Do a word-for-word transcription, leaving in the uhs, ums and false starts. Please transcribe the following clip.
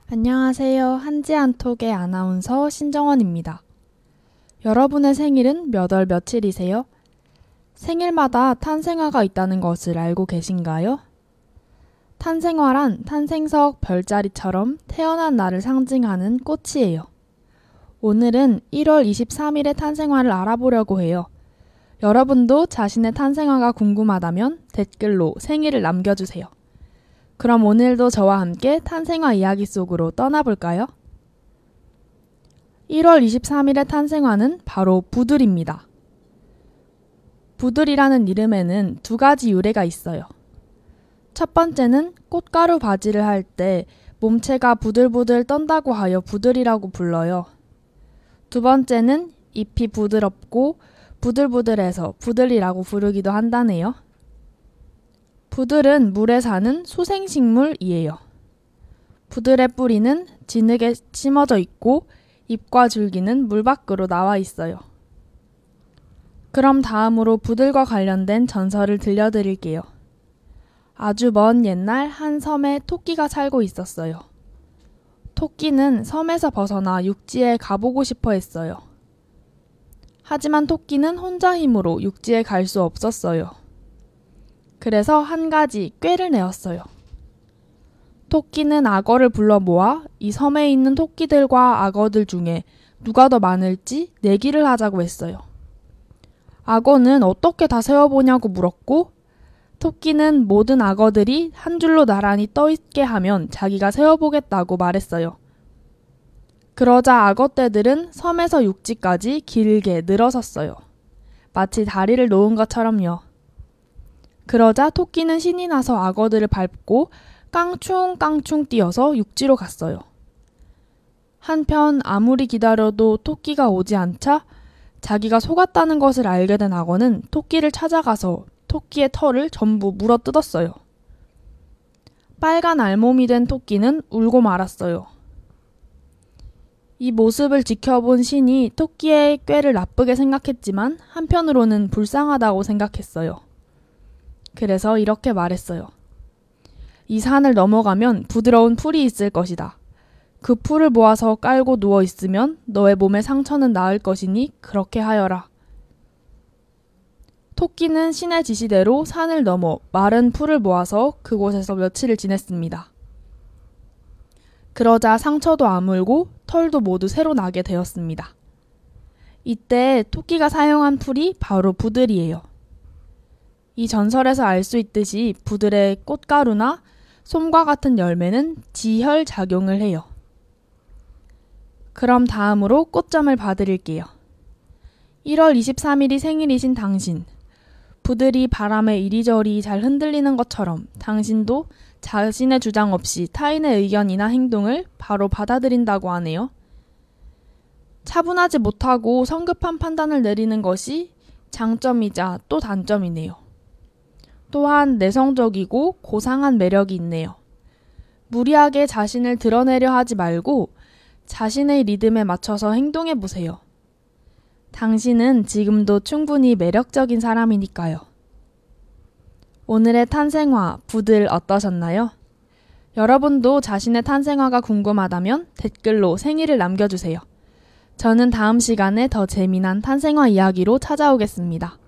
안녕하세요. 한지한톡의 아나운서 신정원입니다. 여러분의 생일은 몇 월 며칠이세요? 생일마다 탄생화가 있다는 것을 알고 계신가요? 탄생화란 탄생석 별자리처럼 태어난 날을 상징하는 꽃이에요. 오늘은 일월 이십삼일의 탄생화를 알아보려고 해요. 여러분도 자신의 탄생화가 궁금하다면 댓글로 생일을 남겨주세요. 그럼 오늘도 저와 함께 탄생화 이야기 속으로 떠나볼까요? 일월 이십삼일의 탄생화는 바로 부들입니다. 부들이라는 이름에는 두 가지 유래가 있어요. 첫 번째는 꽃가루 바지를 할 때 몸체가 부들부들 떤다고 하여 부들이라고 불러요. 두 번째는 잎이 부드럽고 부들부들해서 부들이라고 부르기도 한다네요. 부들은 물에 사는 수생식물이에요. 부들의 뿌리는 진흙에 심어져 있고 잎과 줄기는 물 밖으로 나와 있어요. 그럼 다음으로 부들과 관련된 전설을 들려드릴게요. 아주 먼 옛날 한 섬에 토끼가 살고 있었어요. 토끼는 섬에서 벗어나 육지에 가보고 싶어 했어요. 하지만 토끼는 혼자 힘으로 육지에 갈 수 없었어요. 그래서 한 가지 꾀를 내었어요. 토끼는 악어를 불러 모아 이 섬에 있는 토끼들과 악어들 중에 누가 더 많을지 내기를 하자고 했어요. 악어는 어떻게 다 세어보냐고 물었고, 토끼는 모든 악어들이 한 줄로 나란히 떠있게 하면 자기가 세어보겠다고 말했어요. 그러자 악어떼들은 섬에서 육지까지 길게 늘어섰어요. 마치 다리를 놓은 것처럼요. 그러자 토끼는 신이 나서 악어들을 밟고 깡충깡충 뛰어서 육지로 갔어요. 한편 아무리 기다려도 토끼가 오지 않자 자기가 속았다는 것을 알게 된 악어는 토끼를 찾아가서 토끼의 털을 전부 물어뜯었어요. 빨간 알몸이 된 토끼는 울고 말았어요. 이 모습을 지켜본 신이 토끼의 꾀를 나쁘게 생각했지만 한편으로는 불쌍하다고 생각했어요. 그래서 이렇게 말했어요. 이 산을 넘어가면 부드러운 풀이 있을 것이다. 그 풀을 모아서 깔고 누워 있으면 너의 몸의 상처는 나을 것이니 그렇게 하여라. 토끼는 신의 지시대로 산을 넘어 마른 풀을 모아서 그곳에서 며칠을 지냈습니다. 그러자 상처도 아물고 털도 모두 새로 나게 되었습니다. 이때 토끼가 사용한 풀이 바로 부들이에요. 이 전설에서 알 수 있듯이 부들의 꽃가루나 솜과 같은 열매는 지혈 작용을 해요. 그럼 다음으로 꽃점을 봐드릴게요. 일월 이십삼일이 생일이신 당신. 부들이 바람에 이리저리 잘 흔들리는 것처럼 당신도 자신의 주장 없이 타인의 의견이나 행동을 바로 받아들인다고 하네요. 차분하지 못하고 성급한 판단을 내리는 것이 장점이자 또 단점이네요. 또한 내성적이고 고상한 매력이 있네요. 무리하게 자신을 드러내려 하지 말고 자신의 리듬에 맞춰서 행동해 보세요. 당신은 지금도 충분히 매력적인 사람이니까요. 오늘의 탄생화, 부들 어떠셨나요? 여러분도 자신의 탄생화가 궁금하다면 댓글로 생일을 남겨주세요. 저는 다음 시간에 더 재미난 탄생화 이야기로 찾아오겠습니다.